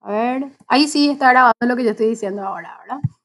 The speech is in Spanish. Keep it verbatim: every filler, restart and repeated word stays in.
A ver, ahí sí está grabando lo que yo estoy diciendo ahora, ¿verdad?